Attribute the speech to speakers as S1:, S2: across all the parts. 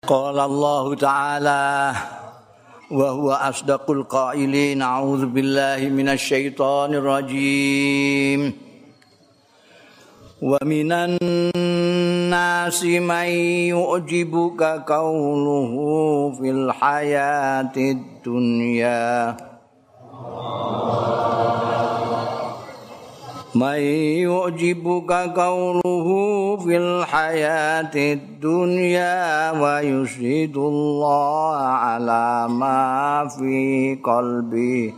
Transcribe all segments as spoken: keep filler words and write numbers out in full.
S1: Qala Allah Ta'ala wa huwa asdaqul qailin a'udzu billahi minasy syaithanir rajim wa minan nasi may yu'jibuka qawluhu fil hayatid dunya may yu'jibuka qawluhu fil hayatid dunya wa yusyhidullaha ala ma fi qalbi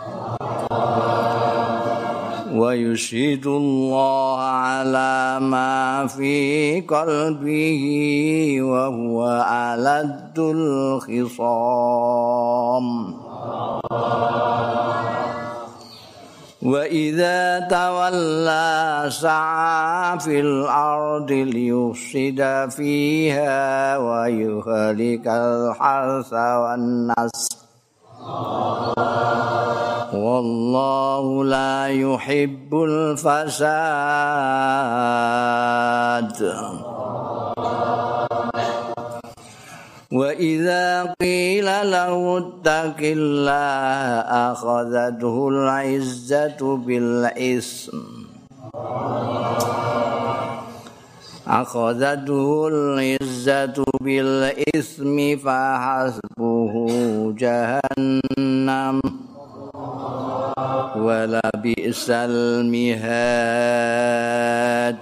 S1: wa yusyhidullaha ala ma fi qalbihi wa huwa aladul khisam wa idza tawalla sa'a fil ardi liyufsida fiha wa yuhlikal harsa wan nas wallahu la yuhibbul fasad wa idza qila lahu ittaqillaha akhadhathu al-izzatu bil ism akhadhathu al-izzatu bil ismi fa hasbuhu jahannam wa la bi'sal mihad.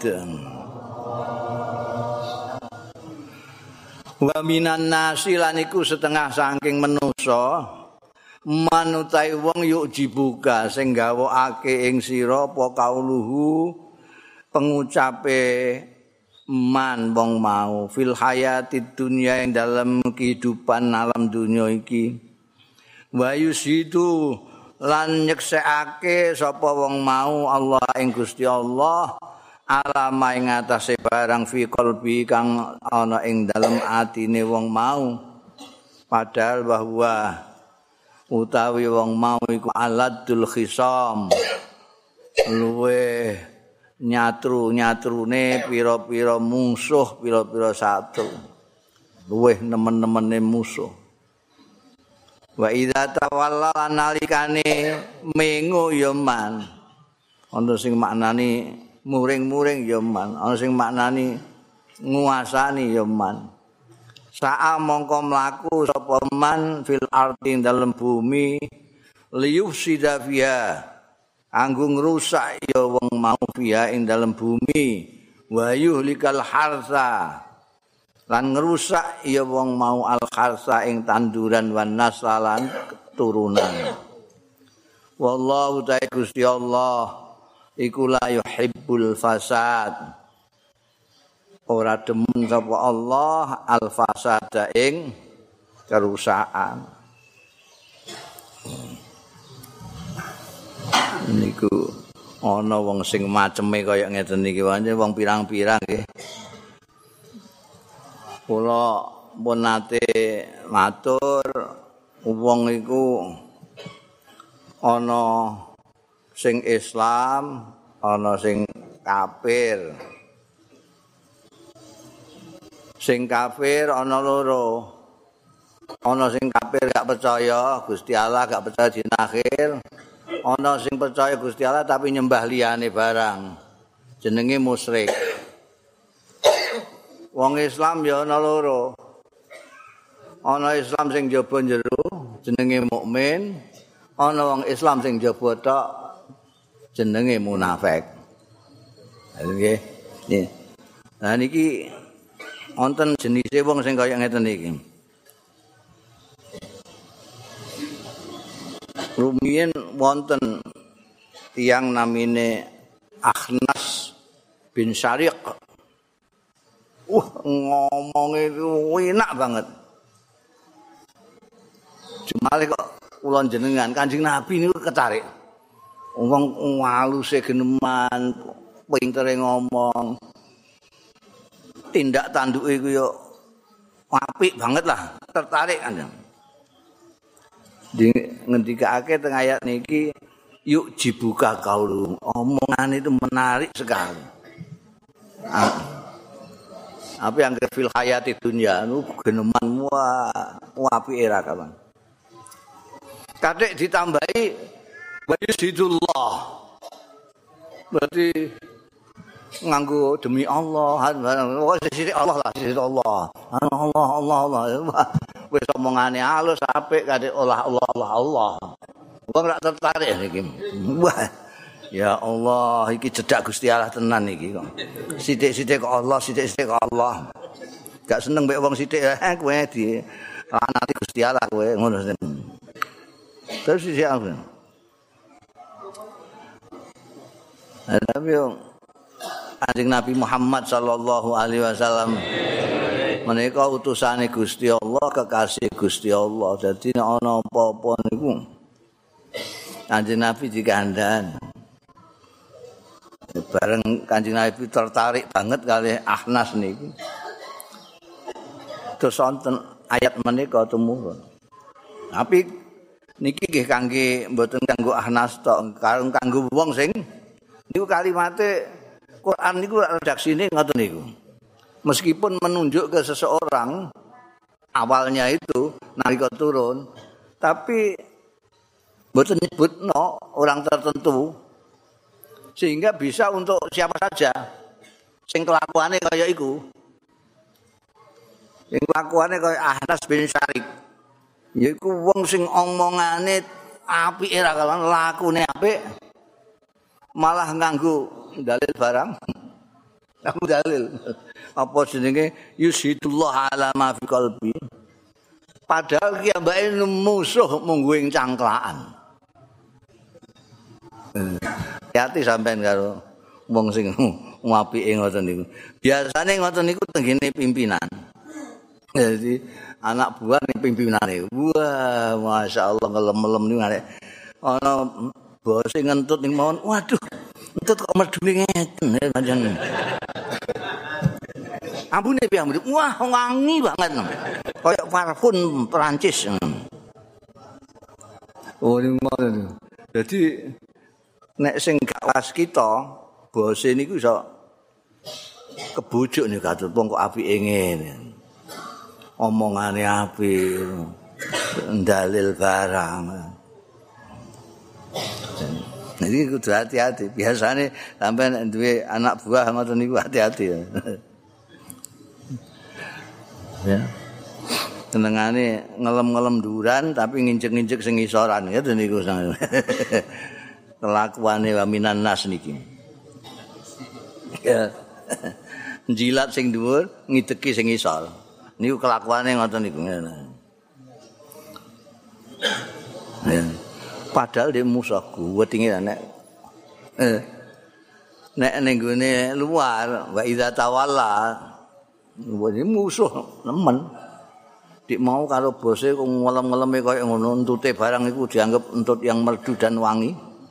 S1: Wa minan nasi lan iku setengah saking manusa manutai wong yuk dibuka sing gawokake ing sira apa kauluhu pengucape man wong mau fil hayatid dunya ing dalam kehidupan alam dunya iki wa yusidu lan nyeksekake sapa wong mau Allah ing Gusti Allah alama ing atase barang fi qalbi kang ana ing dalem atine wong mau padahal bahwa utawi wong mau iku aladul khisam luwe nyatru-nyatrune pira-pira musuh pira-pira satu luweh nemen-nemene musuh wa idza tawalla nalikane mengo ya man ana sing maknani muring-muring ya man, ana sing maknani nguasani ya man. Sa'a mongko mlaku sapa man fil ardi dalem bumi liyufsida fiha anggo ngrusak ya wong mau fiha ing dalem bumi wa yuhlikal harsa lan ngrusak ya wong mau al harsa ing tanduran wan nasalan keturunan. Wallahu ta'ala Gusti Allah iku la yuhibbul fasad ora demen sapa Allah al fasada ing kerusakan niku ana wong sing maceme kaya ngeten iki wae wong pirang-pirang nggih kula pun nate matur wong iku ana sing Islam, ana sing kafir. Sing kafir ana loro. Ana sing kafir gak percaya Gusti Allah, gak percaya dina akhir. Ana sing percaya Gusti Allah tapi nyembah liyane barang. Jenenge musyrik. Wong Islam ya ana loro. Ana Islam sing jaba jero jenenge mukmin, ana wong Islam sing jaba tok jenenge munafik. Nggih. Nggih. Nah niki wonten jenise wong sing kaya ngeten iki. Rumiyin wonten tiyang namine Akhnas bin Syariq. Wah, ngomongnya enak banget. Cuma kok kula jenengan Kanjeng Nabi niku ketarik. Wong waluse geneman, pintere ngomong. Tindak tanduke iku yo apik banget lah, tertarik kan. Di ngendikake teng ayat niki yuk dibuka kaulu. Omongan itu menarik sekali. Apa yang ke fil hayati dunya nu geneman wah apike ra kawan. Katik ditambahi wa yusidullah. Berarti nganggo demi Allah, wong sithik Allah lah, sithik Allah. Allah Allah Allah. Wis omongane halus apik katik olah Allah Allah Allah. Wong ora tertarik iki. Wah. Ya Allah, iki cedak Gusti Allah tenan iki kok. Sithik-sithik kok Allah, sithik-sithik kok Allah. Gak seneng mek wong sithik eh kowe di lanati Gusti Allah kowe ngono. Terus sithik aku. Tapi Kanjeng Nabi Muhammad sallallahu alaihi wasallam menika utusane Gusti Allah, kekasih Gusti Allah. Dadi nek ana apa-apa niku Kanjeng Nabi dikandhan. Bareng Kanjeng Nabi tertarik banget kali Ahnas niku. Terus wonten ayat menika tumurun. Tapi niki nggih kangge mboten kanggo Ahnas tok, kanggo wong sing niku kalimate Quran niku redaksine ngoten niku. Meskipun menunjuk ke seseorang awalnya itu nalika turun, tapi mboten nyebutno orang tertentu. Sehingga bisa untuk siapa saja sing kelakuane kaya iku. Sing kelakuane kaya Ahnas bin Syarik. Yaiku wong sing omongane apike ra kawan, lakune apik. Malah nganggo dalil barang. Aku dalil. Apa jenenge yusidullah ala ma fi qalbi. Padahal ki ambake musuh mungguing cangklaan. Hati sampean karo wong sing apike ngoten niku. Biasane ngoten niku tenggene pimpinan. Jadi anak buah ning pimpinane. Wah, masyaallah ngelem-elem niku arek ana bose ngentut ning mawon. Waduh, ngentut kok medune ngeten pancen. Ambune piye ambune? Wah, wangi banget. Kayak parfum Perancis. Oh, niku ngoten. Jadi nek sing gak was kita, bose niku iso kebujuk nih katut wong kok apike ngene. Omongane apik, dalil barang. Jadi kudu hati-hati. Biasane sampean duwe anak buah ngoten niku hati-hati. Ya. Senengane ngelem-ngelem duran tapi nginjek-nginjek sing isoran ya niku. Kelakuane wa minan nas niki. Ya. Jilat sing dhuwur, ngideki sing isor. Niku kelakuane ngoten niku. Ya. Padahal dia musuh kuwetinge nek eh nek ning gone luar wa idza tawalla musuh nemen. Dik mau karo bose kok ngelem-ngeleme kaya ngono entute barang iku dianggap entut yang merdu dan wangi.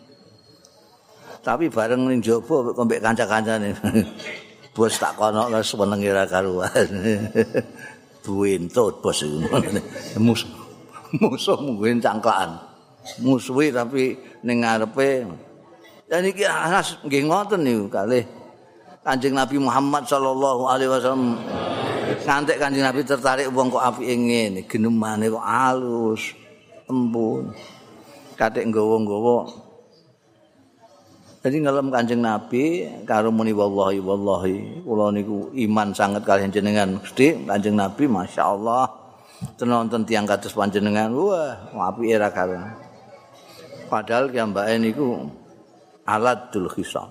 S1: Tapi bareng ning jaba kok mbek kanca-kancane. Bos tak kono wis senenge ra karuan. Buentut bos iku. Musuh. Musuh mungguin cangklaan. Musuhi tapi ning ngarepe. Dan iki Anas nggih ngoten niku kalih Kanjeng Nabi Muhammad sallallahu alaihi wasallam. Ngantek Kanjeng Nabi tertarik wong kok apike ngene, genemane kok alus, empun. Katik nggawa-nggawa. Jadi ngelem Kanjeng Nabi karo muni wallahi wallahi kula niku iman sanget kalian jenengan Gusti Kanjeng Nabi masyaallah tenonten tiyang kados panjenengan wah apike ra karuan. Padahal kiambake niku aladul hisab.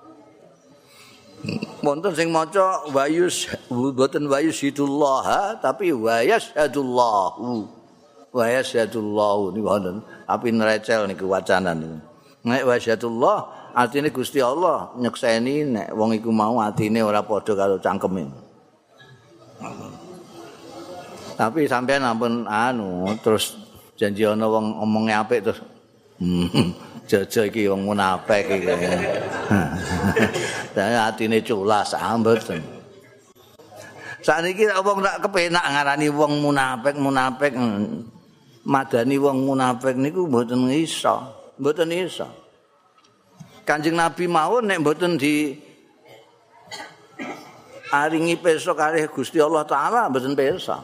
S1: Wonten sing maca wayus boten wayusidullah tapi wayasyadullahu. Wayasyadullahu niku wonten tapi nerecel niku wacanan niku. Nek wayasyadullah artine Gusti Allah nyekseni nek wong iku mau atine ora padha karo cangkeme. Tapi sampean ampun anu terus janji ana wong omonge apik terus jaja iki wong munafik iki. Dene atine culas mboten. Sakniki wong nak kepenak ngarani wong munafik munafik madani wong munafik niku mboten iso, mboten iso. Kanjeng Nabi mawon nek mboten di aringi pirsa kalih Gusti Allah taala mboten pirsa.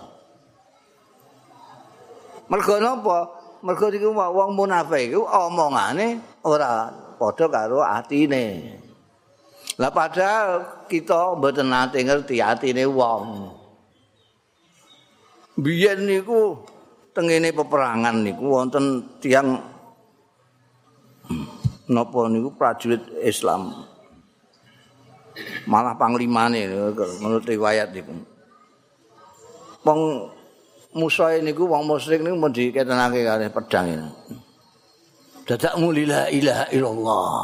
S1: Mergo napa? Mergo niku wong munafik iku omongane ora padha karo atine. Lah padahal kita mboten nate ngerti atine wong. Biyen niku tengene peperangan niku wonten tiyang napa niku prajurit Islam. Malah panglimane menurut riwayat niku. Wong Musa niku wong musyrik niku mun diketenake kalih pedang ini. Dadak muli la ilaha illallah.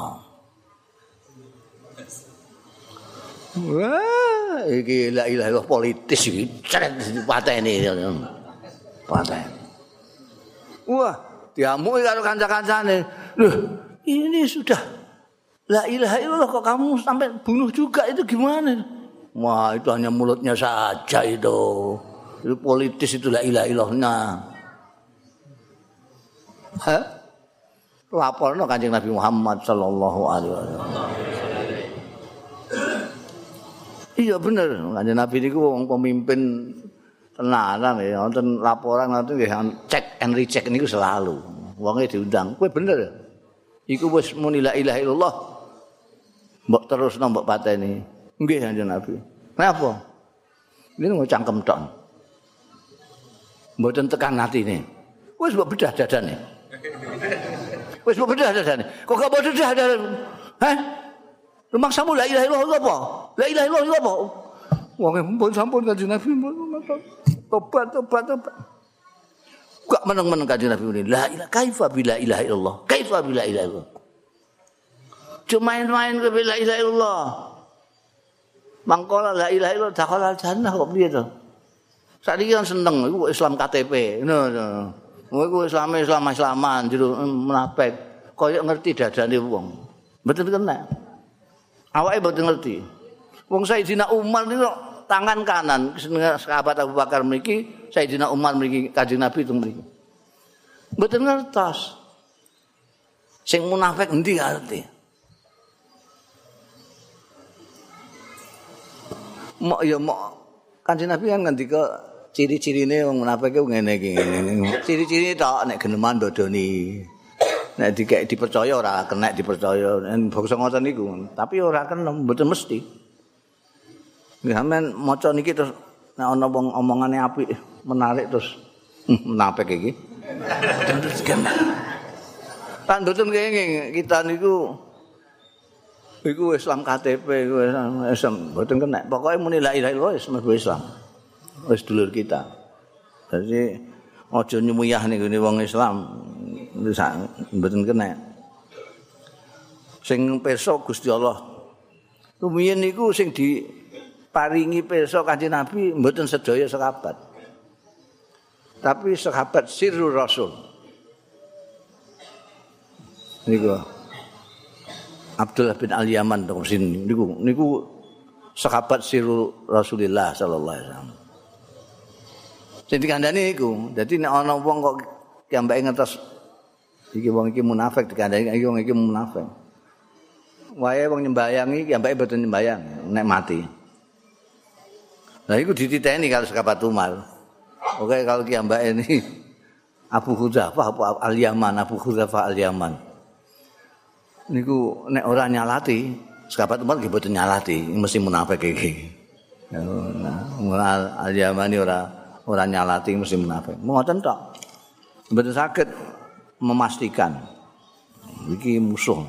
S1: Wah, iki la ilaha illallah politis iki cret dipateni. Pateni. Wah, diamuki karo kanca-kancane. Loh, ini sudah la ilaha illallah kok kamu sampai bunuh juga itu gimana? Wah, itu hanya mulutnya saja itu. Itu politis itu la ilaha illallahnya. Hah? Laporno Kanjeng Nabi Muhammad sallallahu alaihi wasallam. Iya bener, Kanjeng Nabi niku wong pemimpin tenanan ya, wonten laporan ngoten nggih cek and recheck niku selalu. Wonge diundang, kowe bener. Iku wis muni la ilaha illallah. Mbok terusno mbok pateni. Nggih Kanjeng Nabi. Napa? Ini mau cangkem tok. Mboten tekan atine. Wis mbok bedah dadane. Wis mbok bedah dadane. Kok gak mbok bedah dadane? Hah? Rumaksamu la ilaha illallah apa? La ilaha illallah apa? Wong pun sampun Kanjeng Nabi tobat tobat tobat. Gak meneng-meneng Kanjeng Nabi muni la ilaha kaifa bila ilaha illallah. Kaifa bila ilaha illallah. Cuma main-main ke bila ilaha illallah. Mangkola la ilaha illallah dakhala jannah kok piye to? Saiki kan seneng iku Islam K T P. No no. Kowe Islam Islam Islaman jero munafik. Kaya ngerti dadane wong. Mboten kena. Awake mboten ngerti. Wong Sayyidina Umar niku tangan kanan sahabat Abu Bakar mriki, Sayyidina Umar mriki, Kanjeng Nabi teng mriki. Mboten ngertos. Sing munafik endi ngerti. Mok ya mok Kanjeng Nabi kan ngendika ciri-cirine wong munafik ku ngene iki ngene. Ciri-cirine tok nek geneman ndodoni. Nek dikek dipercaya ora kena dipercaya. Bangsa ngoten niku, tapi ora kena mboten mesti. Nggih sampean maca niki terus nek ana wong omongane apik menarik terus munafik iki. Terus kena. Kan mboten kenging kita niku iku Islam K T P iku Islam mboten kena. Pokoke muni la ilaha illallah wis mlebu Islam. Wis dulur kita. Jadi aja nyemuyah niku wong Islam mboten kena. Sing pirsa Gusti Allah. Rumiyin niku sing diparingi pirsa Kanjeng Nabi mboten sedaya sahabat. Tapi sahabat sirrul Rasul. Niku Abdullah bin Al-Yaman teng sini niku niku sahabat sirrul Rasulillah sallallahu alaihi wasallam. Sing dikandani iku, dadi nek ana wong kok kiambake ngertos iki wong iki munafik dikandani iki wong iki munafik. Wae wong nyembayang iki kiambake mboten nyembayang nek mati. Lah iku dititeni kalau sahabat Umar. Oke kalau kiambake ini Abu Hudzafah Al-Yaman, Abu Hudzafah Al-Yaman. Niku nek ora nyalati, sahabat Umar nggih mboten nyalati, mesti munafik iki. Nah, Al-Yamani ora ora nyalati mesti munafik. Ngoten tok. Mboten saged memastikan iki musuh.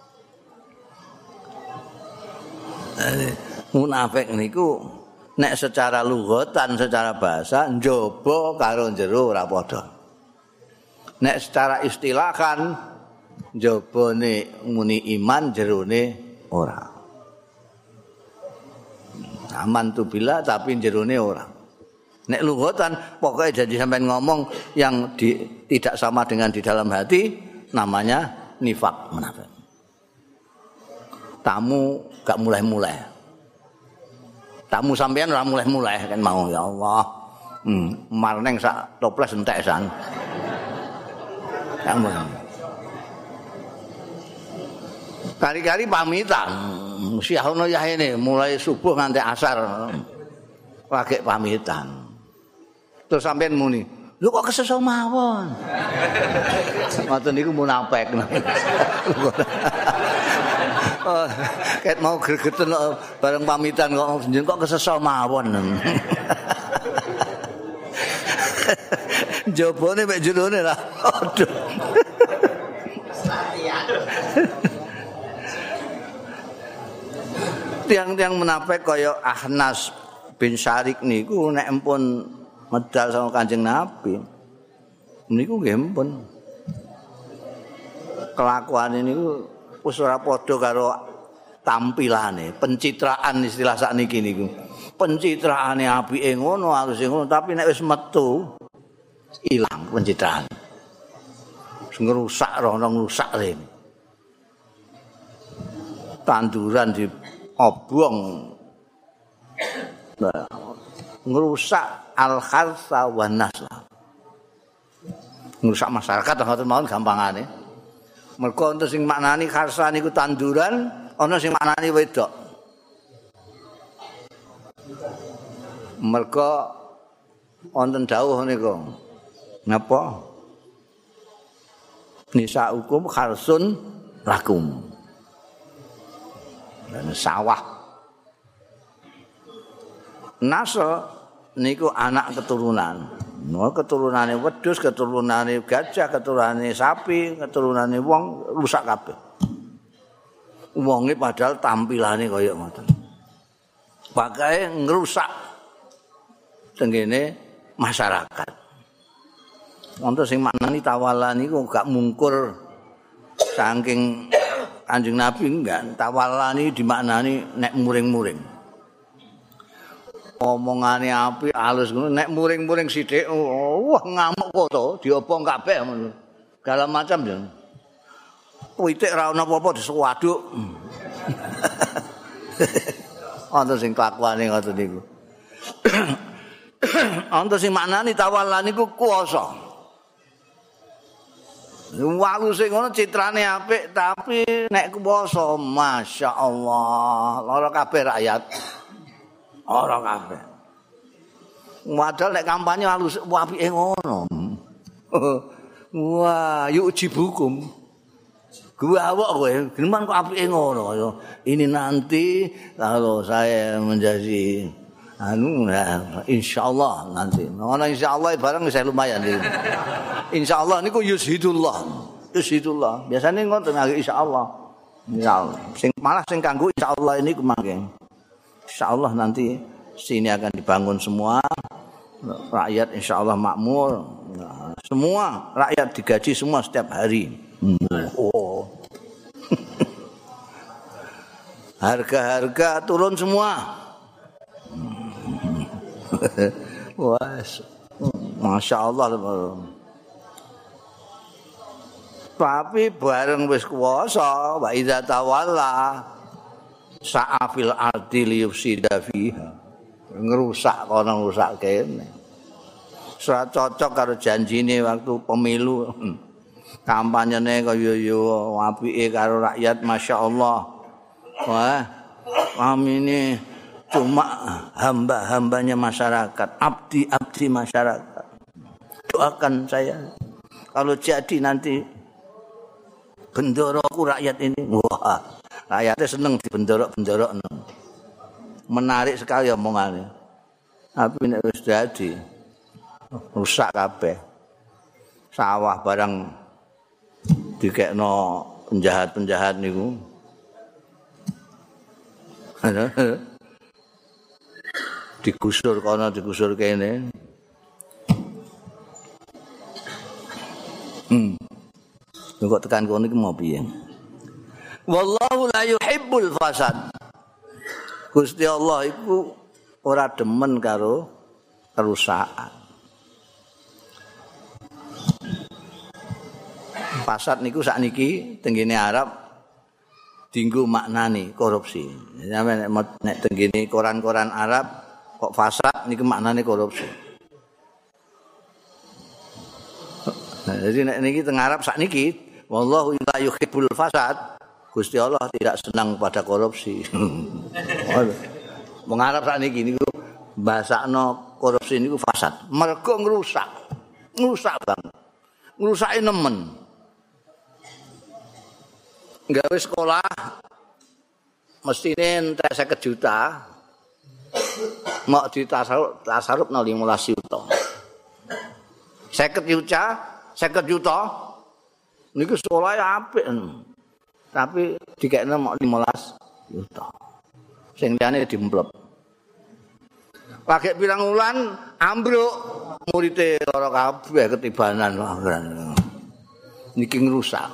S1: Munafik niku nek secara lughatan, secara bahasa njaba karo jero ora padha. Nek secara istilahan njabane muni iman jerone ora. Aman tu bila tapi jerone ora. Nek lughatan pokoknya janji sampean ngomong yang di, tidak sama dengan di dalam hati namanya nifak munafik. Tamu gak mulai-mulai. Tamu sampean ora mulai-mulai kan mau ya Allah. Hmm, marneng sak toples entek san. Kamu. Kali-kali pamitan. Syah ono yahene mulai subuh nganti asar. Lagi pamitan. Terus sampean muni, "Lho kok kesesa mawon?" Ngoten niku munafik. Oh, ket mau gregeten bareng pamitan kok njen kok kesesa mawon. Jobone mek jerone lah. Aduh. Tiang-tiang munafik kaya Ahnas bin Syarik niku nek empun medal sama Kanjeng Nabi. Niku nggih empun. Kelakuane niku wis ora padha karo tampilane, pencitraan istilah sakniki niku. Pencitraane apike ngono, aluse ngono, tapi nek wis metu ilang pencitraan. Ngerusak rono ngrusak rene. Tanduran di obong nah, ngerusak al-kharsa wan nasla. Ngerusak masyarakat ngoten mawon gampangane. Mergo enten sing maknani kharsa niku tanduran, ana sing maknani wedok. Mergo wonten dawuh niku. Napa? Nisa hukum kharsun lakum. Dan sawah. Nasl niku anak keturunan. No keturunane wedhus, keturunane gajah, keturunane sapi, keturunane wong rusak kabeh. Wonge padahal tampilane kaya ngoten. Pakae ngrusak tengene masyarakat. Wonten sing maknani tawala niku gak mungkur saking Kanjeng Nabi enggak, tawala niku dimaknani nek muring-muring. Omongane apik halus ngono nek muring-muring sithik wah ngamuk kok to diobong kabeh ngono. Segala macam ya. Pitik ra ono apa-apa disuwaduk. Wonten sing kelakuane ngoten niku. Wonten sing maknani tawala niku kuwasa. Walu sing ngono citrane apik tapi nek kuwasa masyaallah lara kabeh rakyat. Ora kabeh. Padahal nek kampanye halus apike ngono. Wah, yuk jibukum. Gua awak kowe, gimana kok apike ngono. Ini nanti kalau saya menjadi anu nah, insyaallah nanti. Ngono insyaallah barang saya lumayan iki. Insyaallah niku yushidullah. Yushidullah. Biasane ngoten insyaallah. Insyaallah. Sing malah sing kanggo insyaallah ini kemangke. Insyaallah nanti sini akan dibangun semua. Rakyat insyaallah makmur. Nah, semua rakyat digaji semua setiap hari. Oh. Harga-harga turun semua. Wah, masya Allah. Tapi bareng wis kuwasa, wa idza tawalla sa'afil ardi liyufsida fiha. Ngerusak kono ngrusak kene. Ora cocok karo janjine waktu pemilu. Kampanyene kaya yo apike karo rakyat masya Allah. Wah, kami ini cuma hamba-hambanya masyarakat, abdi-abdi masyarakat. Doakan saya kalau jadi nanti bendoroku rakyat ini. Wah, rakyatnya seneng di bendorok-bendorok. Menarik sekali omongannya. Tapi nek wis dadi rusak kabeh. Sawah barang dikekno penjahat-penjahat niku. Digusur kono digusur kene. Hmm. Kok tekan kono iki mau piye? Wallahu la yuhibbul fasad. Gusti Allah iku ora demen karo kerusakan. Fasad niku sakniki tenggene Arab dinggo maknani korupsi. Nek nek tenggene koran-koran Arab kok fasad niku maknane korupsi. Nah, jadi nek niki teng Arab sakniki wallahu la yuhibbul fasad Gusti Allah tidak senang pada korupsi. Mengarap sakniki niku basakno korupsi niku fasad. Mergo ngrusak. Ngrusak banget. Ngrusake nemen. Gawe sekolah mestine entek seket juta. Mok ditasaruf tasarufno lima belas juta. seket juta, seket juta niku sekolah ya apik. Tapi dikekno mok lima belas juta. Sing liyane dimplep. Lagi pirang wulan ambruk muridé lara kabeh ketibanan. Niki ngrusak.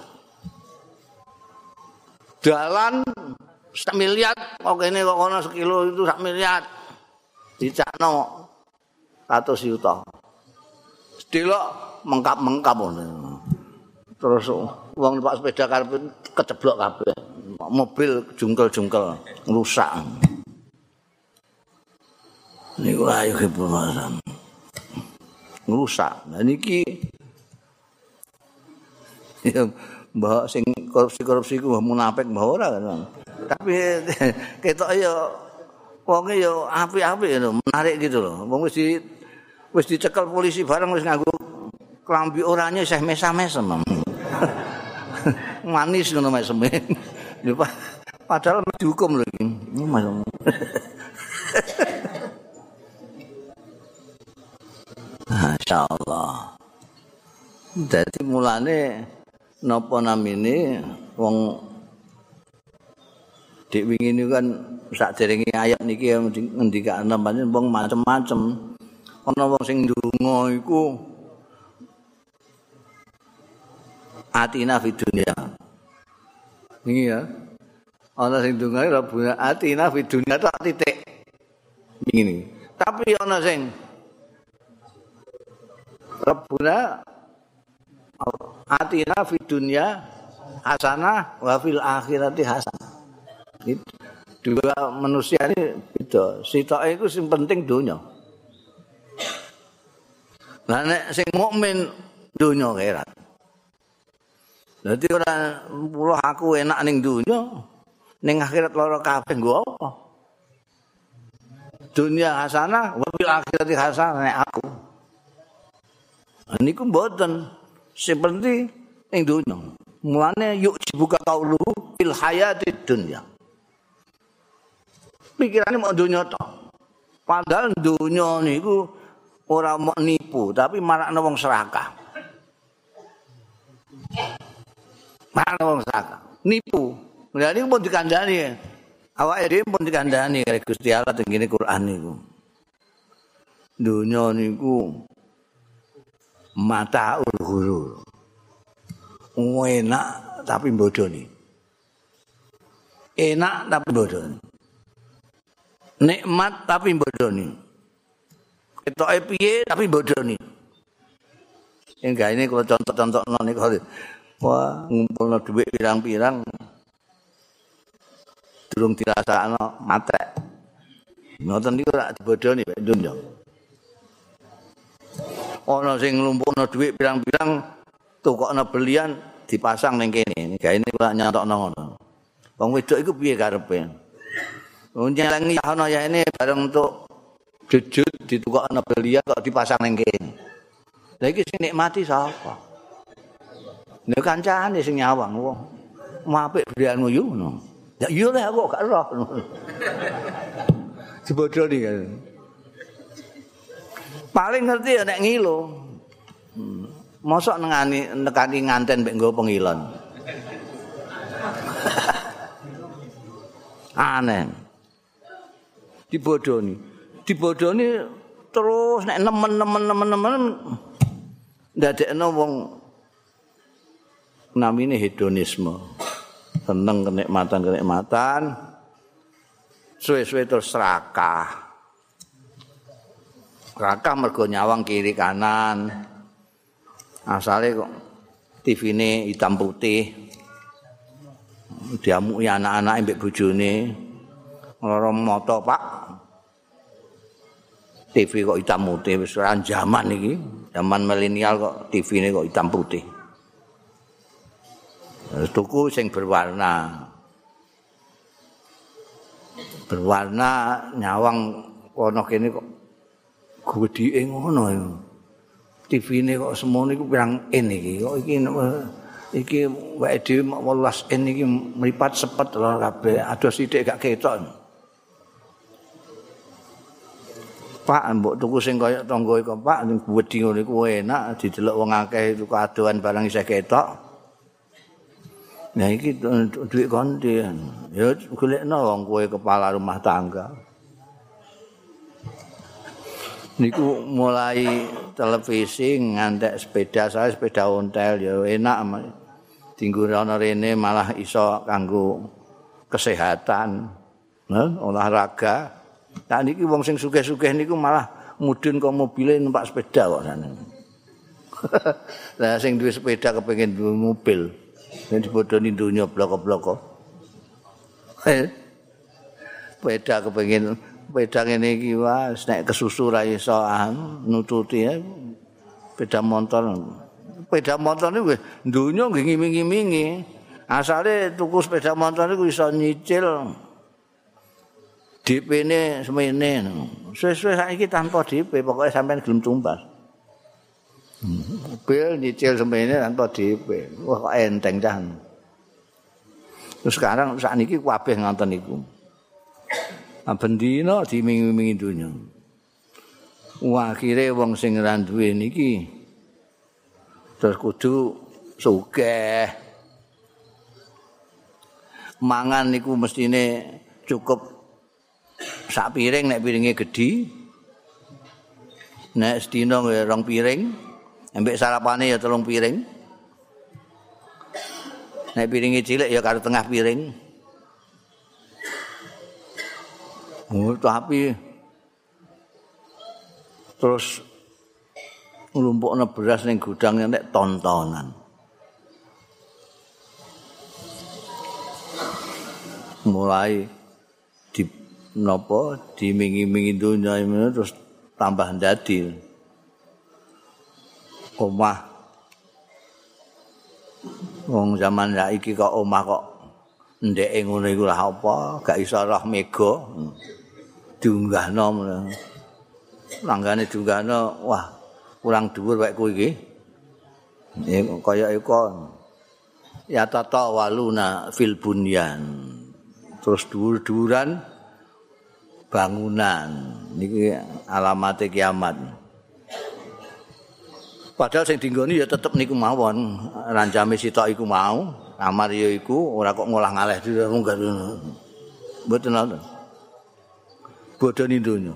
S1: Dalan sak miliar kok kene kok kono sekilo itu sak miliar. Dicakno seratus juta. Delok mengkap-mengkap ngono. Terus wong numpak sepeda karepe keceblok kabeh. Mobil jungkel-jungkel rusak. Niku ayo kebebasan. Rusak. Nah niki ya mbah sing korupsi-korupsi ku munafik mbah ora kan. Tapi ketok ya wonge ya apik-apik lho, menarik gitu loh. Wong wis di wis dicekel polisi bareng wis nganggo klambi oranye seh mesam-mesem. Manis ngono mesem. Padahal dihukum lho iki. Masyaallah. Dadi mulane napa namine wong dik wingi niku kan sakderenge ayat niki ngendikane pancen wong macem-macem. Ana wong sing ndonga iku atina fid dunya. Niki ya. Ana sing ndonga Rabbuna atina fid dunya tok titik. Ngene. Tapi ana sing Rabbuna atina fid dunya hasanah wa fil akhirati hasanah. Itu dua manusia ini beda. Sitoke iku sing penting donya. Lah nek sing mukmin donya akhirat. Dadi ora mulo aku enak ning donya, ning akhirat lara kabeh nggo apa? Dunia hasanah wa fil akhirati hasanah nek aku. Niku mboten sing penting ning donya. Mulane yuk dibuka kaulu fil hayati dunya. Pikirane mau donya tok. Padahal donya niku ora mau nipu, tapi marakno wong serakah. Marakno wong serakah, nipu. Lha niku pun dikandani. Awake dhewe pun dikandani karo Gusti Allah teng ngene Quran niku. Donya niku mataul ghurur. Enak tapi bodoni. Enak tapi bodoni. Nikmat tapi bodoni. Ketoke piye tapi bodoni. Enggak ini kalau contoh-contohno niku wah ngumpulno dhuwit pirang-pirang durung dirasakno matek. Ngoten niku rak dibodoni mek donya. Ana sing nglumpukno dhuwit pirang-pirang tukokno belian dipasang ning kene. Enggak ini kula nyantokno ngono. Wong wedok iku piye karepe? Nyelengi ana ya ini bareng untuk jujut ditukokno belia kok dipasang ning kene. Lah iki sing nikmati sapa? Nek kancane sing nyawang wong. Apik belianmu yo ngono. Ya iya lah aku gak roh. Dibodoni kan. Paling ngerti ya nek ngilo. Hmm. Mosok nengani nekani nganten mek nggo pengilon. Aneh. Dibodoni. Dibodoni terus nek nemen-nemen-nemen-nemen ndadekno wong namine hedonisme. Seneng kenikmatan-kenikmatan. Suwe-suwe terus serakah. Serakah mergo nyawang kiri kanan. Asale kok T V-ne hitam putih. Diamuki anak-anake mbek bojone. Lara moto, Pak. T V kok hitam putih wis ora zaman iki. Zaman milenial kok T V-ne kok hitam putih. Tuku sing berwarna. berwarna nyawang kono kene kok gedhike ngono ya. T V-ne kok semono iku pirang in iki. Kok iki iki wae dhewe wolulas in iki mripat sepet lho kabeh. Adoh sithik gak ketok. Pak mbok tuku sing kaya tangga iku Pak sing wedi ngono iku enak didelok wong akeh tuku adohan barang isih ketok. Nah iki duit konti. Ya golekno wong kowe kepala rumah tangga. Niku mulai televisi ngantek sepeda saya sepeda ontel ya enak dinggo ana rene malah iso kanggo kesehatan nah, olahraga tak niki wong sing sugih-sugih niku malah mudhun kok mobile numpak sepeda kok sana. Lah sing duwe sepeda kepengin duwe mobil nek dibodoni donya bloko-bloko. Sepeda kepengin sepeda ngene iki wis nek kesusu ra iso nututi ya. Sepeda motor. Sepeda motor niku donya nggih ngiming-ngimingi. Asale tuku sepeda motor niku iso nyicil D P-ne semene. Suwe-suwe saiki tanpa D P pokoke sampean gelem tumbas. Mobil nyicil semene tanpa D P. Wah kok enteng cah. Terus sekarang sakniki kabeh ngoten niku. Bendina dimingi-mingi donya. Wah akhire wong sing ora duwe niki terus kudu sugih. Mangan niku mestine cukup sak piring nek piringe gedhi. Nek sedina rong piring, ambek sarapane ya telung piring. Nek piringe cilik ya karo tengah piring. Oh, tapi terus nglumpukna beras ning gudang nek tontonan. Mulai di napa dimingi-mingi donya terus tambah ndadi. Omah wong zaman saiki kok omah kok ndeke ngono iku lah apa gak iso roh mega. Diunggahno langgane diunggahno wah kurang dhuwur wae kowe iki ya kaya iku ya tata waluna fil bunyan terus dhuwur-dhuwuran bangunan niki alamate kiamat padahal sing dinggoni ya tetep niku mawon rancame sitok iku mau kamar ya iku ora kok ngolah ngaleh munggah mboten nonton bodoni donya.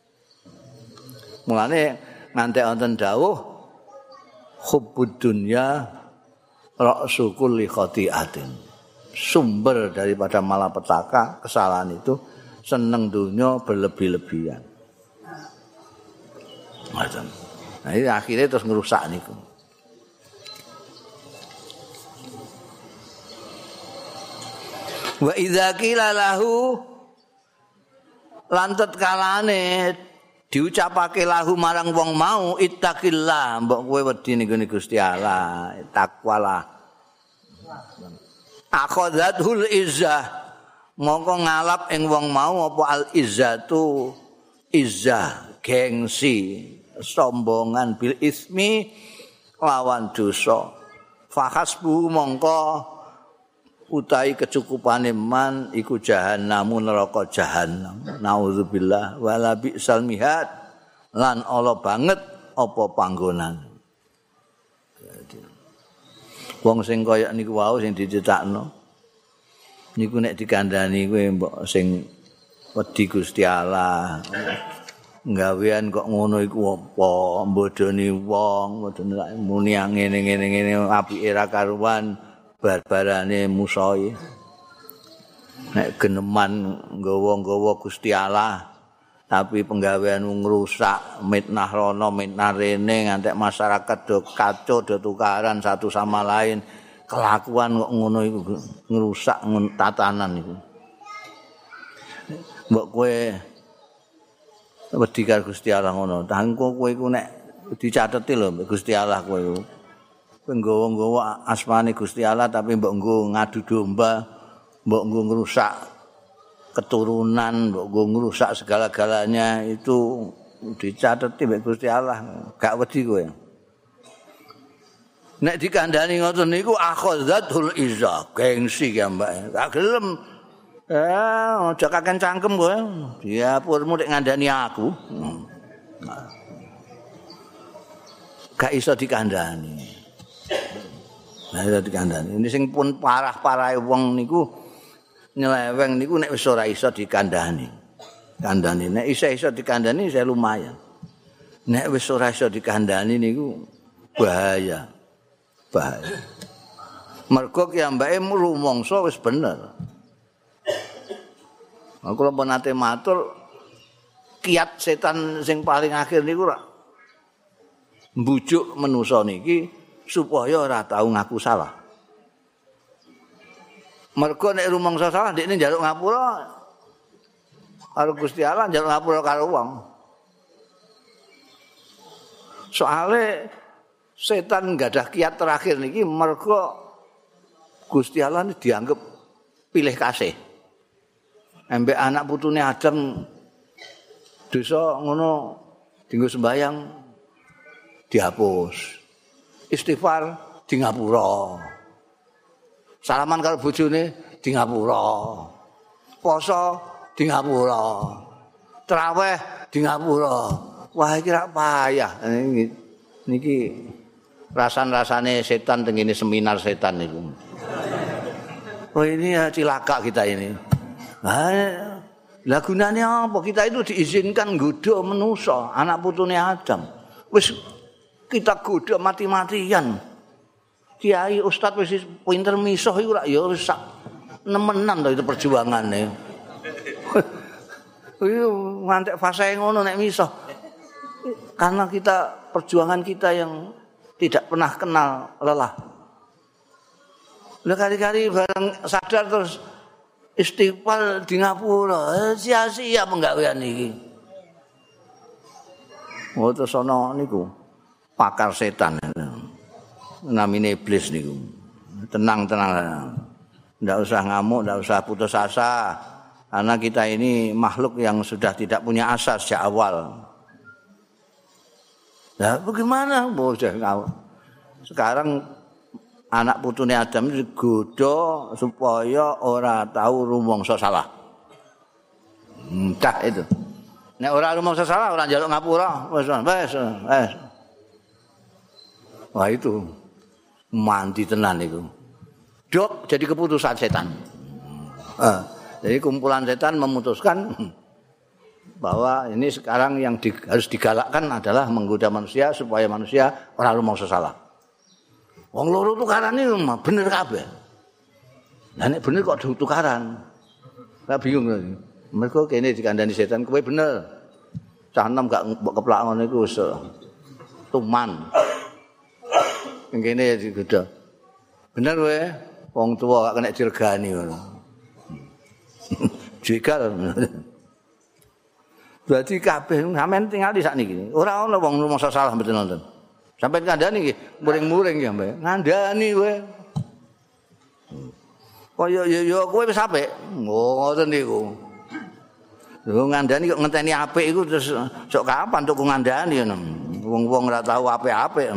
S1: Mulane ngantek wonten dawuh hubbud dunya ra'su kulli khati'atin. Sumber daripada malapetaka, kesalahan itu seneng dunya berlebih-lebihan. Macam. Nah, ini akhirnya terus ngerusak niku. Wa idza qila lahu lantet kalane diucapake lahu marang wong mau ittaqillah mbok kowe wedi ning Gusti Allah takwalah akhadhatul izzah mongko ngalap ing wong mau apa al izzatu izzah gengsi sombongan bil ismi lawan dosa fahasbu mongko utahi kecukupane man iku jahannamu neraka jahannam naudzubillah wala bi'sal mihad lan ala banget apa panggonan wong sing kaya niku wau sing dicetakno niku nek dikandhani kowe mbok sing wedi Gusti Allah nggawean kok ngono iku apa mbodoni wong muni ngene-ngene ngene apike ra karuan barbarane musoi nek geneman nggawa-nggawa Gusti Allah tapi penggawean ngrusak mitnah rono mitnah rene ngantek masyarakat do kacau do tukaran satu sama lain kelakuan kok ngono iku ngrusak tatanan iku mbok kowe wedi karo Gusti Allah ngono tangko kowe iku nek dicateti lho Gusti Allah kowe nggawa-nggawa asmane Gusti Allah tapi mbok nggo ngadu domba, mbok nggo ngrusak keturunan mbok ngrusak segala-galanya itu dicatet mbek Gusti Allah, gak wedi kowe. Nek dikandani ngoten niku akhadzatul izzah, gengsi ya Mbak. Gak gelem. Eh, aja kaken cangkem kowe. Diapurmu nek ngandani aku. Gak iso dikandani. Nah, iso dikandani. Ini sing pun parah-parahe wong niku nyeleweng niku nek wis ora iso dikandani. Kandani nek iso-iso dikandani saya lumayan. Nek wis ora iso dikandani niku bahaya. Bahaya. Mergo ki ambake rumangsa wis bener. Aku lho nate matur kiat setan sing paling akhir niku rak mbujuk manusa niki supaya ora tau ngaku salah. Mergo nek rumangsa salah ndekne njaluk ngapura karo Gusti Allah, njaluk ngapura karo wong. Soale setan gadah kiat terakhir niki mergo Gusti Allah ini dianggap pilih kasih. Embek anak putune Adam dosa ngono dienggo sembayang dihapus. Istighfar di ngapura. Salaman karo bojone di ngapura. Poso di ngapura. Traweh di ngapura. Wah iki rak payah niki. Rasan-rasane setan tengene seminar setan niku. Oh ini ya cilaka kita ini. Nah, lah gunane apa? Kita itu diizinkan nggodha manusa, anak putune Adam. Wis kita godha mati-matian. Kiai ustaz wis pinter misuh iku rak ya wis sak nemenan to itu perjuangane. Iku ngantek fase ngono nek misuh. Karena kita perjuangan kita yang tidak pernah kenal lelah. Lah kali-kali bareng sadar terus istighfar di ngapura, sia-sia penggawean iki. Oh terus ana niku pakar setan. Namine iblis niku. Tenang-tenang. Ndak usah ngamuk, ndak usah putus asa. Karena kita ini makhluk yang sudah tidak punya asa sejak awal. Nah, bagaimana? Sekarang anak putune Adam digodha supaya ora tahu rumangsa salah. Entah itu. Nek ora rumangsa salah ora njaluk ngapura, wis wis wis. Wah itu mandi tenan iku. Dok jadi keputusan setan. Eh, jadi kumpulan setan memutuskan bahwa ini sekarang yang di, harus digalakkan adalah menggoda manusia supaya manusia ora rumangsa salah. Wong loro tukaran iki bener kabeh. Lah nek bener kok tukaran. Lah bingung. Mergo kene dikandani setan kowe bener. Cah enom gak mbok keplak ngono iku wis tuman. Ning kene digoda. Bener kowe wong tuwa gak kena diregani ngono. Jegal. Berarti kabeh sampean tinggal di sakniki. Ora ana wong rumangsa salah mboten nonton. Sampai ngandani nggih, muring-muring ya, Mbak. Ngandani kowe. Kaya ya ya kowe wis apik. Oh, ngoten niku. Lho ngandani kok ngenteni apik iku terus sok kapan tuku ngandani ngono. Wong-wong ora tahu apik-apik.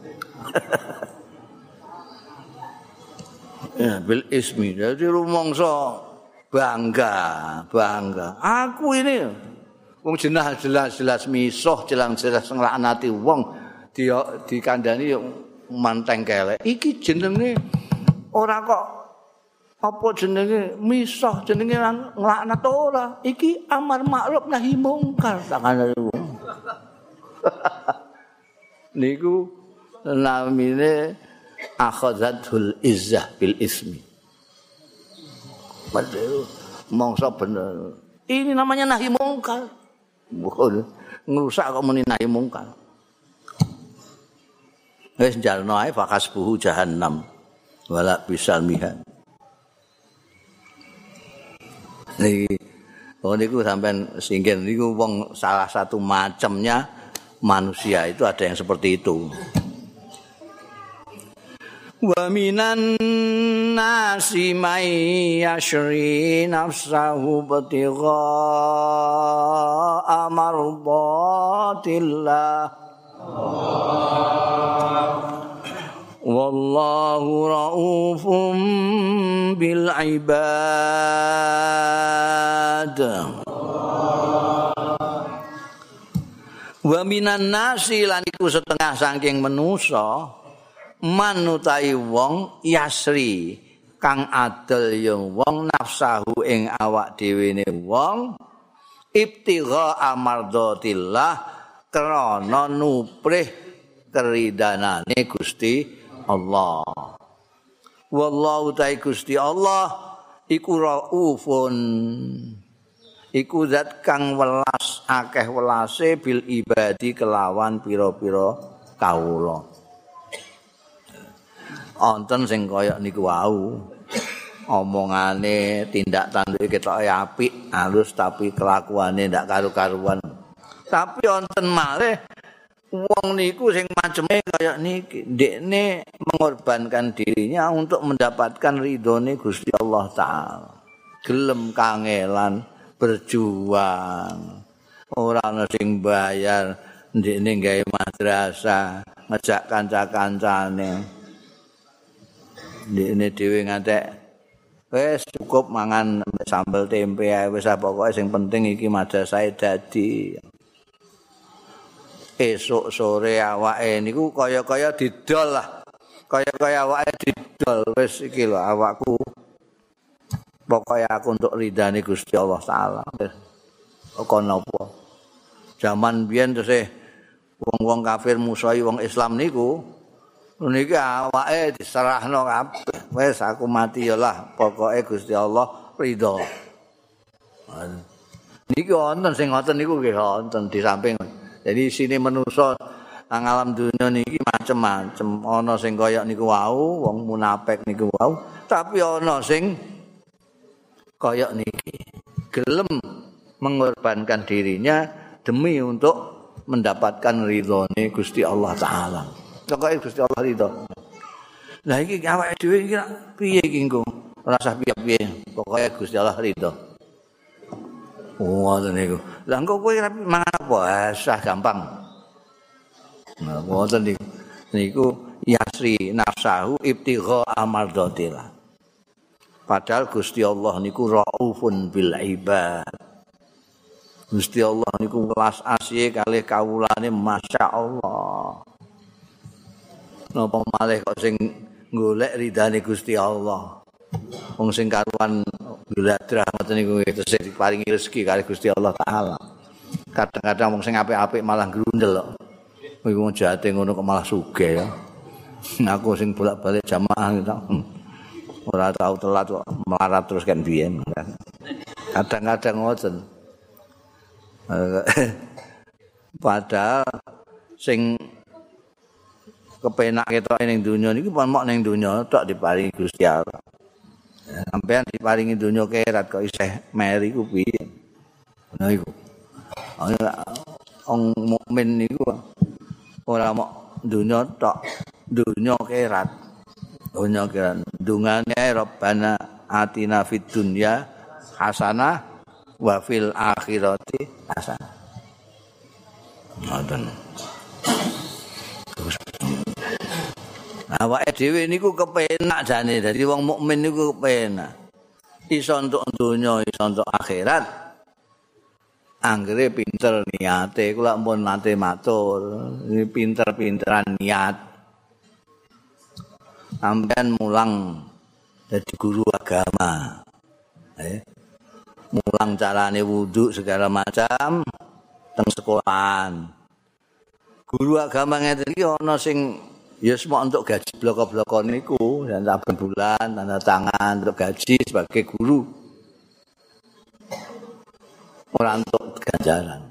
S1: Ya, bil ismi. Jadi rumangsa bangga, bangga. Aku ini wong jenah jelas-jelas misuh, jelas-jelas nglaknati wong dia dikandani yo manteng kelek. Iki jenenge ora kok apa jenenge misuh, jenenge nglaknat ora. Iki amar makruf nahi mungkar takane wong. Niku namine akhadzatul izzah bil ismi. Padahal mongso bener. Ini namanya nahi mungkar. Bukan ngerusak kok muni nahi mungkar. Wis jalno ae fakasbuhu jahannam wala bisal mihan. Niki oh niku sampean singgih niku wong salah satu macamnya manusia itu ada yang seperti itu. Wa minan nasi may yashri nafsahu batigha amardatillah wallahu raufum bil ibad. Wa minan nasi lan iku setengah saking manusa manutai wong yasri kang adel ya wong nafsahu ing awak dhewene wong ibtigha amardatillah krana nuprih keridanane Gusti Allah. Wallahu ta'ala Gusti Allah iku raufun iku zat kang welas akeh welase bil ibadi kelawan pira-pira kawula. Wonten sing kaya niku wau omongane tindak tanduke ketoke apik halus tapi kelakuane ndak karu-karuan. Tapi wonten malih wong niku sing maceme kaya niki ndekne mengorbankan dirinya untuk mendapatkan ridhone Gusti Allah taala. Gelem kangelan berjuang. Ora ana sing bayar ndekne gawe madrasah, ngejak kanca-kancane. Ndekne dhewe ngantek wis cukup mangan sambel tempe ae wis pokoke sing penting iki madrasah dadi. Esuk sore awake niku kaya-kaya didol lah. Kaya-kaya awake didol wis iki lho awakku. Pokoke aku untuk ridane Gusti Allah taala. Kok napa? Zaman biyen terus wong-wong kafir musuhi wong Islam niku niki awake diserahno kabeh. Wis aku mati ya lah, pokoke Gusti Allah ridho. Niki wonten sing ngoten niku nggih wonten di samping. Jadi sini manusa nang alam dunya niki macem-macem. Ana sing kaya niku wau, wong munafik niku wau, tapi ana sing kaya niki gelem mengorbankan dirinya demi untuk mendapatkan ridhone Gusti Allah taala. Pokoke Gusti Allah ridho. Lah iki awake dhewe iki piye iki engko? Ora usah piye-piye. Pokoke Gusti Allah ridho. Ngoten niku. Lah engko kowe mangan apa? Sah gampang. Nah, ngoten niku. Niku yasri nafsahu ibtigha amardatillah. Padahal Gusti Allah niku raufun bil ibad. Gusti Allah niku welas asih kalih kawulane masyaallah. Napa malih kok sing golek ridane Gusti Allah. Wong sing karuan gladrah ngoten niku terus diparingi rezeki kali Gusti Allah taala. Kadang-kadang wong sing apik-apik malah grundel kok. Kuwi wong jate ngono kok malah sugih ya. Aku sing bolak-balik jamaah gitu. Ora tau telat kok melarat terus kan biyen. Kadang-kadang ngoten. Padahal sing kepenak ketok ning donya niki pun mok ning donya tok diparingi Gusti Allah. Sampeyan diparingi donya kerat kok isih meri ku piye? Nah iku. Wong mukmin niku ora mok donya tok, donya kerat. Donya kerat. Dungane Rabbana atina fid dunya hasanah wa fil akhirati hasanah. Ngoten. Awake dhewe niku kepenak jane dadi wong mukmin niku kepenak. Iso entuk donya, iso entuk akhirat. Anggere pinter niate, kula pun nate matur, ini pinter-pinteran niat. Sampeyan mulang dadi guru agama. Eh, mulang carane wudu segala macam teng sekolahan. Guru agama ngeten iki ana sing ya semua untuk gaji bloko-bloko niku dan saben bulan tanda tangan untuk gaji sebagai guru. Ora untuk ganjaran.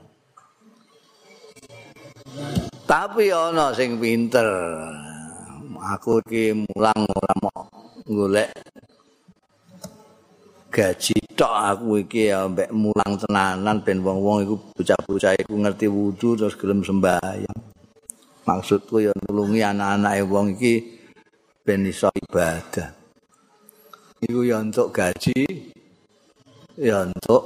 S1: Tapi ana sing pinter. Aku iki mulang ora mau golek gaji tok aku iki ya mbek mulang tenanan ben wong-wong iku bocah-bocah iku ngerti wudu terus gelem sembahyang. Maksudku ya nulungi anak-anake wong iki ben iso ibadah. Iku ya untuk gaji, ya untuk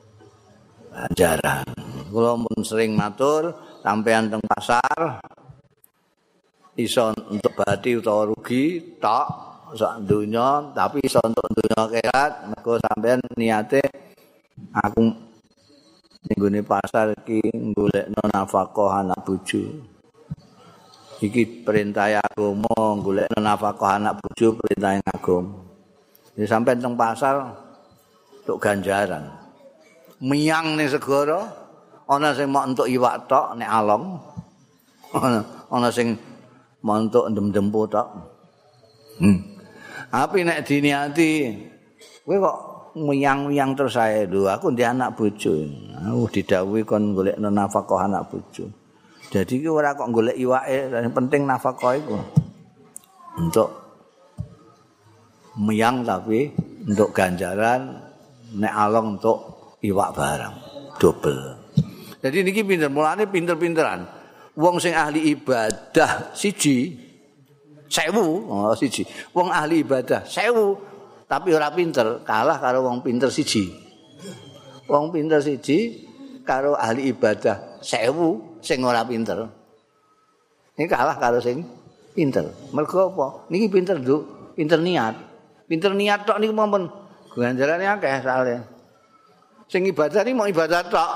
S1: ganjaran. Kula pun sering matur sampean teng pasar iso untuk bati utawa rugi tok sak donya, tapi iso untuk donya akhirat mergo sampean niate aku ning gone pasar iki golekno nafkah anak bojo. Iki perintah agama, golekno nafkah anak bojo perintah agama. Jadi sampai teng pasar untuk ganjaran. Miyang ning segara ana sing mok entuk iwak tok nek along. Ana ana sing mok entuk endem-dempo tok. Hmm. Tapi nek diniati kowe kok miyang-miyang terus ae lho, aku ndek anak bojo. Aku didhawuhi kon golekno nafkah anak bojo. Jadi ki ora kok golek iwake, yang penting nafkah iku. Untuk miyang tapi untuk ganjaran, nek along untuk iwak barang double. Jadi niki pinter, mulane pinter-pinteran. Wong sing ahli ibadah siji sewu, oh siji. Wong ahli ibadah sewu tapi ora pinter, kalah karo wong pinter siji. Wong pinter siji karo ahli ibadah sewu sing ora pinter. Ini kalah karo sing pinter. Mergo apa? Niki pinter, Nduk. Pinter niat. Pinter niat tok niku mawon ganjarane akeh soalé. Sing ibadah iki mau ibadah tok.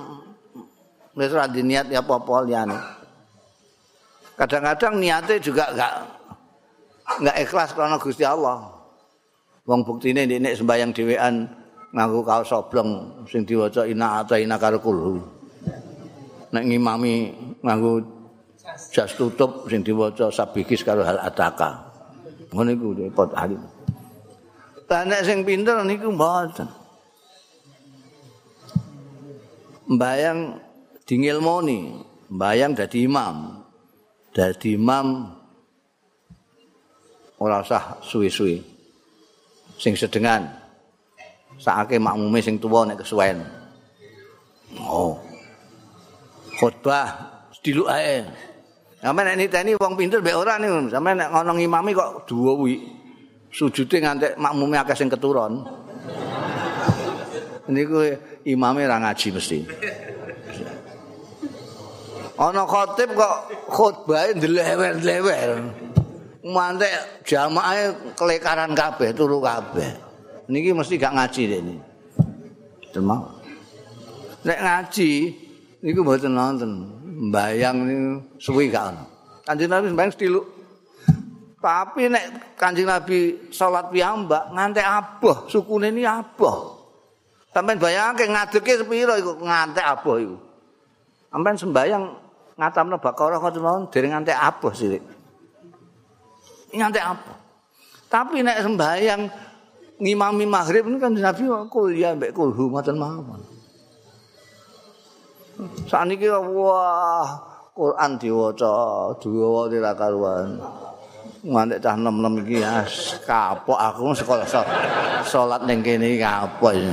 S1: Wis ora niat ya apa-apa liyane. Kadang-kadang niate juga enggak enggak ikhlas karena Gusti Allah. Wong buktine nek sembayang dhewean nganggo kaos oblong sing diwaca ina ataina karo kulhu. Nek ngimami nganggo jas tutup sing diwaca sabikis karo hal ataka. Ngono iku repot ali. Lah nek sing pinter niku mboten. Mbayang dingilmoni, mbayang dadi imam. Dadi imam ora usah suwi-suwi. Sing sedengan. Sakake makmume sing tuwa nek kesuwen. Oh. Khotbah sediluk ae. Sampe nek niteni wong pinter mbek ora niku. Sampe nek ngono ngimami kok duwi. Sujude ngantek makmume akeh sing keturun. Niku imame ra ngaji mesti. Ana khatib kok khotbahe ndlewer-ndlewer. Mantek jamaahe kelekaran kabeh, turu kabeh. Niki mesti gak ngaji rene. Demang. Nek ngaji niku mboten nonton. Mbayang niku suwi gak ono. Kanjeng Nabi mbayang sediluk. Tapi nek Kanjeng Nabi salat piyambak ngantek aboh, sukune ni aboh. Sampeyan bayangke ngadeke sepira iku ngantek aboh iku. Sampeyan sembayang ngatamno Baqarah kok mawon dereng ngantek aboh sithik. Ngantek aboh. Tapi nek sembayang ngimami maghrib niku Kanjeng Nabi kul ya mbek kulhu ngoten mawon. Saniki wah Quran diwaca, diwaca ora karuan. Ngantek cah nem-nem iki ya kapok aku sekolah salat ning kene iki kapok iki.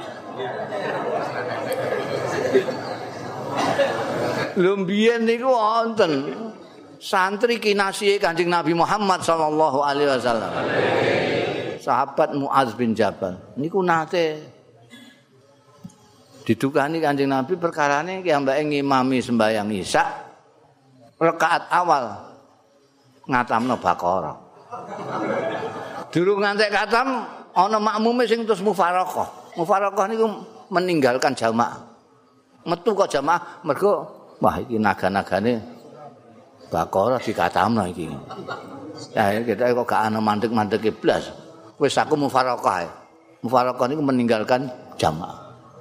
S1: Lho mbiyen niku wonten santri kinasihe Kanjeng Nabi Muhammad sallallahu alaihi wasallam. Sahabat Muaz bin Jabal niku nate didukani Kanjeng Nabi perkarane ki ambake ngimami sembahyang Isya rakaat awal ngatamno Baqarah. Durung ngantek katam ana makmume sing terus mufaraqah. Mufaraqah niku meninggalkan jamaah. Metu kok jamaah mergo wah iki naga-nagane Baqarah dikatamno iki. Ya kita kok gak ana mandek-mandeke blas. Wis aku mufaraqah. Mufaraqah niku meninggalkan jamaah.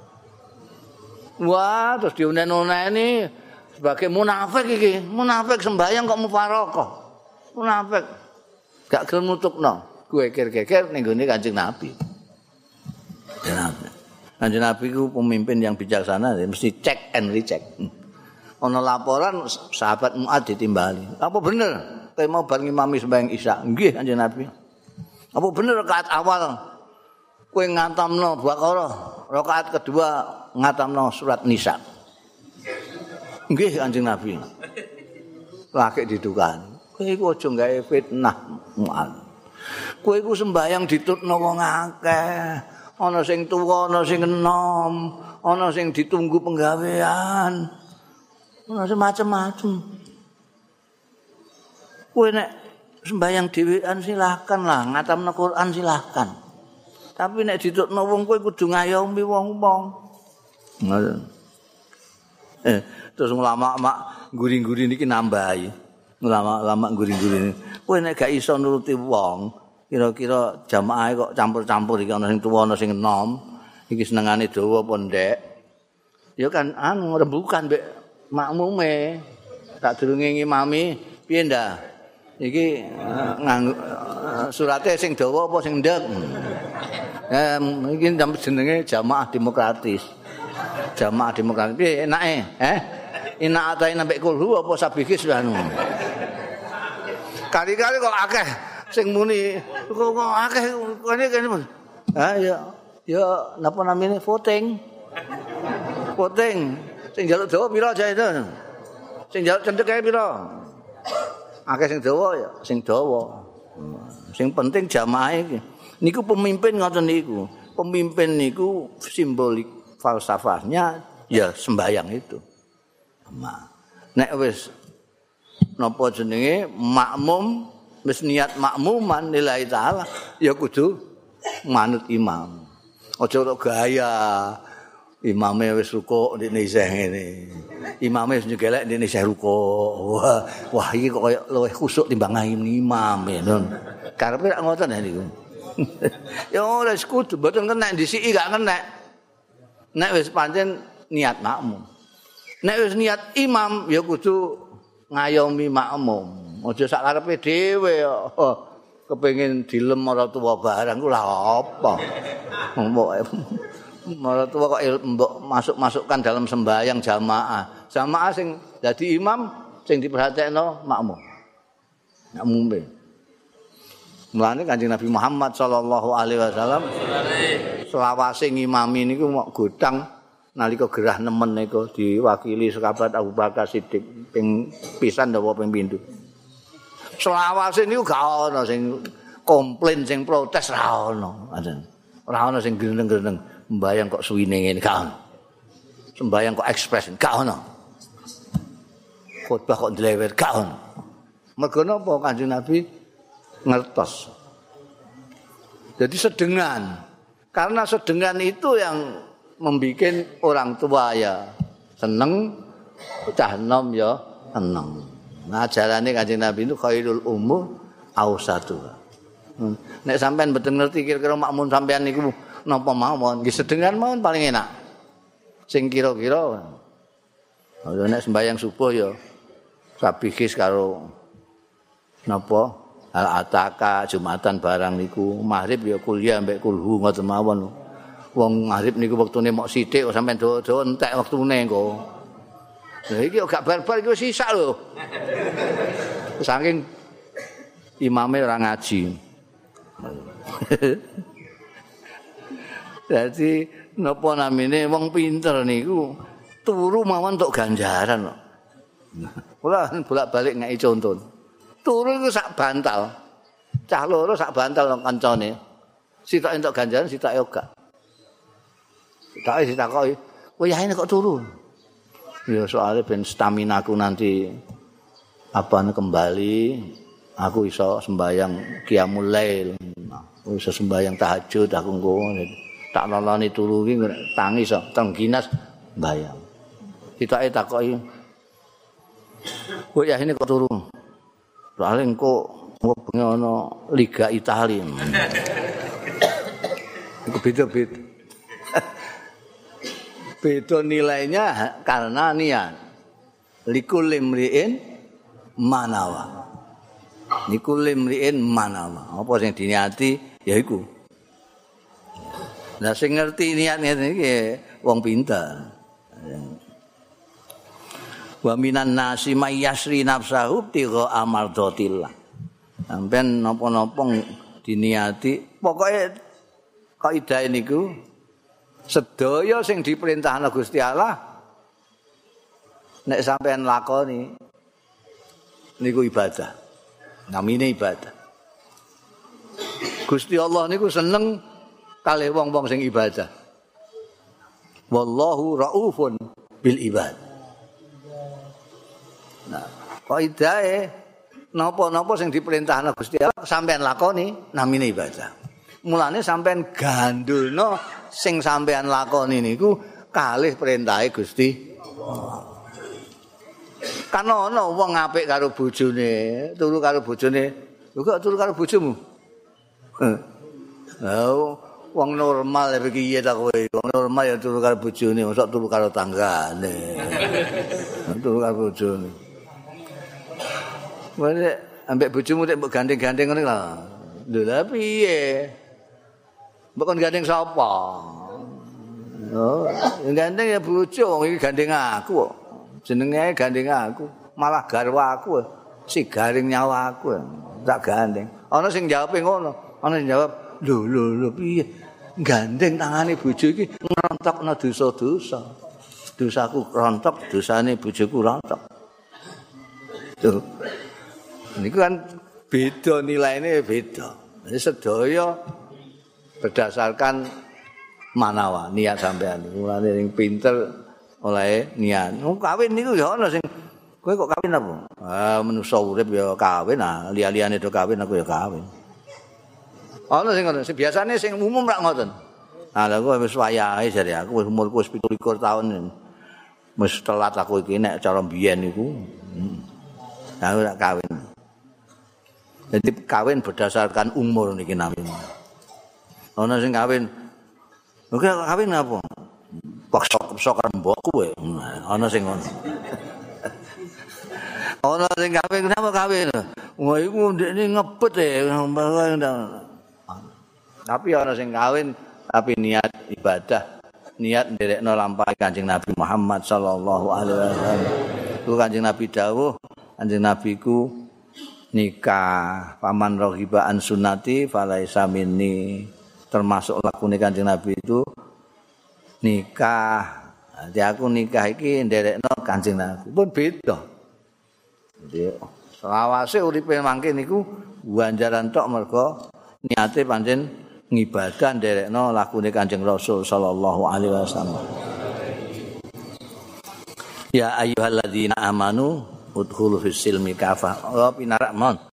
S1: Wah, terus diunen-uneni sebagai munafik iki. Munafik sembahyang kok mufaraqah. Munafik gak gelem nutukno geger-geger ning gone Kanjeng Nabi. Kanjeng Nabi ku pemimpin yang bijaksana, mesti check and recheck. Ana laporan sahabat Mu'ad ditimbali. Apa bener kowe mau bar ngimami sembahyang Isya? Nggih Kanjeng Nabi. Apa bener rakaat awal kowe ngatamno Baqarah, rakaat kedua ngatamno surat Nisa? Nggih Kanjeng Nabi. Lagi didukani. Kowe iku aja gawe fitnah. Kowe iku sembayang ditutno wong akeh. Ana sing tuwa, ana sing enom, ana sing ditunggu penggawean. Ana macam-macam. Kowe nek sembayang dhewean silakan lah, ngatamna Quran silakan. Tapi nek ditutno wong kowe kudu ngayomi wong-wong. Ngoten. Eh, terus ulama-ulama guri-guri niki nambahi. Ulama-ulama guri-guri. Kowe nek gak iso nuruti wong, kira-kira jamaah kok campur-campur iki ana sing tuwa ana sing enom, iki senengane dawa apa ndek. Ya kan anu rembukan mbek makmume. Tak durunge ngimami, piye ndak? Iki uh, nganggo uh, surate sing dawa apa sing ndek. Eh iki jenenge jamaah demokratis. Jamaah demokratis piye enake? Eh? Enak atae nambek kulhu apa sabikis anu. Kali-kali kok akeh sing muni kok akeh kene kene. Ha ya ya napa namine voting. Voting. Sing njaluk dawa pira aja itu? Sing njaluk cendhek kae pira? Akeh sing dawa ya, sing dawa. Sing penting jamaah iki. Niku pemimpin ngoten niku. Pemimpin niku simbolik falsafahnya ya sembayang itu. Nah, nek wis napa jenenge makmum wis niat makmuman lillahi taala ya kudu manut imam. Aja kok gaya imame wis rukuk ndekne isih ngene. Imame wis nyegelek ndekne isih rukuk. Wah, wah iki kok koyo luwih khusuk timbang imam ya. Karepe rak ngoten ya niku. Ya ora kudu mboten kena disiki gak kena. Nek wis pancen niat makmum. Nek wis niat imam ya kudu ngayomi makmum. Aja sak karepe dhewe kok kepengin dilem ora tuwa barang ku lha apa. Mbok ora tuwa kok mbok masuk-masukkan dalam sembahyang jamaah. Jamaah sing dadi imam sing diperhatekno makmum. Makmume. Mulane Kanjeng Nabi Muhammad sallallahu alaihi wasallam selawase ngimami niku mok godang nalika gerah nemen niku diwakili sekabat Abu Bakar Siddiq ping pisan napa ping pindho. Selawase niku gak ana sing komplain sing protes ra ono. Ora ana sing greneng-greneng mbayang kok suwine ngene gak ono. Sembayang kok ekspres gak ono. Khotbah kok ndlewer gak ono. Mergo napa Kanjeng Nabi ngertos. Jadi sedengan. Karena sedengan itu yang membuat orang tua ya seneng, cah nom ya seneng. Nah, ajarane Kanjeng Nabi itu khairul umur ausatu. Nek sampean mboten ngerti kira-kira makmun sampean niku napa mawon, nggih sedengan mawon paling enak. Sing kira-kira nek sembahyang subuh ya sabihis karo napa al-ataka Jumatan barang niku, maghrib ya kuliah mbek kulhu ngoten mawon. Wong maghrib niku wektune mok sithik kok sampean dawa-dawa entek wektune engko. Lah iki gak bar-bar iki wis sisak lho. Saking imame ora ngaji. Jadi napa namine wong pinter niku turu mawon entuk ganjaran kok. Kula bolak-balik ngeki conton. Turu iku sak bantal. Cah loro sak bantal nang kancane. Sitok entuk ganjaran, sitok ora. Sitake ditakoki, "Kowe yaene kok turu?" Ya soalnya ben staminaku nanti apa kembali, aku iso sembayang qiyamul lail. Aku iso sembayang tahajud aku engko tak loloni turu iki tangi iso tengginas mbayang. Sitake takoki, "Kowe yaene kok turu?" Soalnya engko bengi ana Liga Italia. Iku beda-beda. Beda nilainya karena niat. Likul limriin manawa. Likul limriin manawa. Apa sing diniati ya iku. Lah sing ngerti niat-niat iki wong pinter. Wa minan nasi may yasri nafsahu tiga amardatillah. Sampeyan napa-napa diniati, pokoke kaidah niku sedaya sing diperintahna Gusti Allah nek sampeyan lakoni niku ibadah. Namine ibadah. Gusti Allah niku seneng kalih wong-wong sing ibadah. Wallahu raufun bil ibad. Nah, kaidahe napa-napa sing diperintahna Gusti Allah sampean lakoni namine ibadah. Mulane sampean gandulno sing sampean lakoni niku kalih perintahe Gusti Allah. Kan ana wong apik karo bojone, turu karo bojone, lho kok turu karo bojomu? Lah wong normal ya piye ta kowe? Wong normal ya turu karo bojone, mosok turu karo tanggane. Turu karo bojone. Wene ambek bojomu nek mbok gandeng-gandeng ngene lho. Lho lha piye? Mbok kon gandeng sapa? Oh, gandeng ya bojo, wong iki gandeng aku kok. Jenenge gandeng aku, malah garwa aku. Si garing nyawa aku. Tak gandeng. Ana sing jawabe ngono, ana sing jawab, lho lho lho piye? Gandeng tangane bojo iki ngrontokno dosa-dosa. Dosaku rontok, dosane bojoku rontok. Tuh. Niku kan beda nilaine beda. Jadi sedaya berdasarkan manawa niat sampean. Mulane sing pinter oleh niat. Oh, kawin niku ya ana sing kowe kok kawin apa? Ah manusa urip ya kawin ah, liya-liyane do kawin aku ya kawin. Ana sing ngono, sing biasane sing umum rak ngoten. Ah lha kowe wis wayahe jare aku wis umurku wis pitu likur taun. Wis telat aku iki nek cara mbiyen niku. Nah, aku rak kawin. Jadi kawin berdasarkan umur niki namine. Ana sing kawin. Oke kawin apa? Paksa-paksa karo mbokku kowe. Ana sing ngono. Ana sing kawin kenapa kawin? Wah iku ndekne ngebet e. Tapi ana sing kawin tapi niat ibadah, niat nderekno lampahe Kanjeng Nabi Muhammad sallallahu alaihi wasallam. Ku Kanjeng Nabi dawuh, Kanjeng Nabi ku nikah paman rohiba an sunnati falaisa minni, termasuk lakune Kanjeng Nabi itu nikah. Jadi aku nikah iki nderekno Kanjeng Nabi pun beda. Jadi selawase uripe mangke niku ganjaran tok mergo niate pancen ngibadah nderekno lakune Kanjeng Rasul sallallahu alaihi wasallam. Ya ayyuhalladzina amanu udkhulu fis silmi kafah. Oh pinarak mon.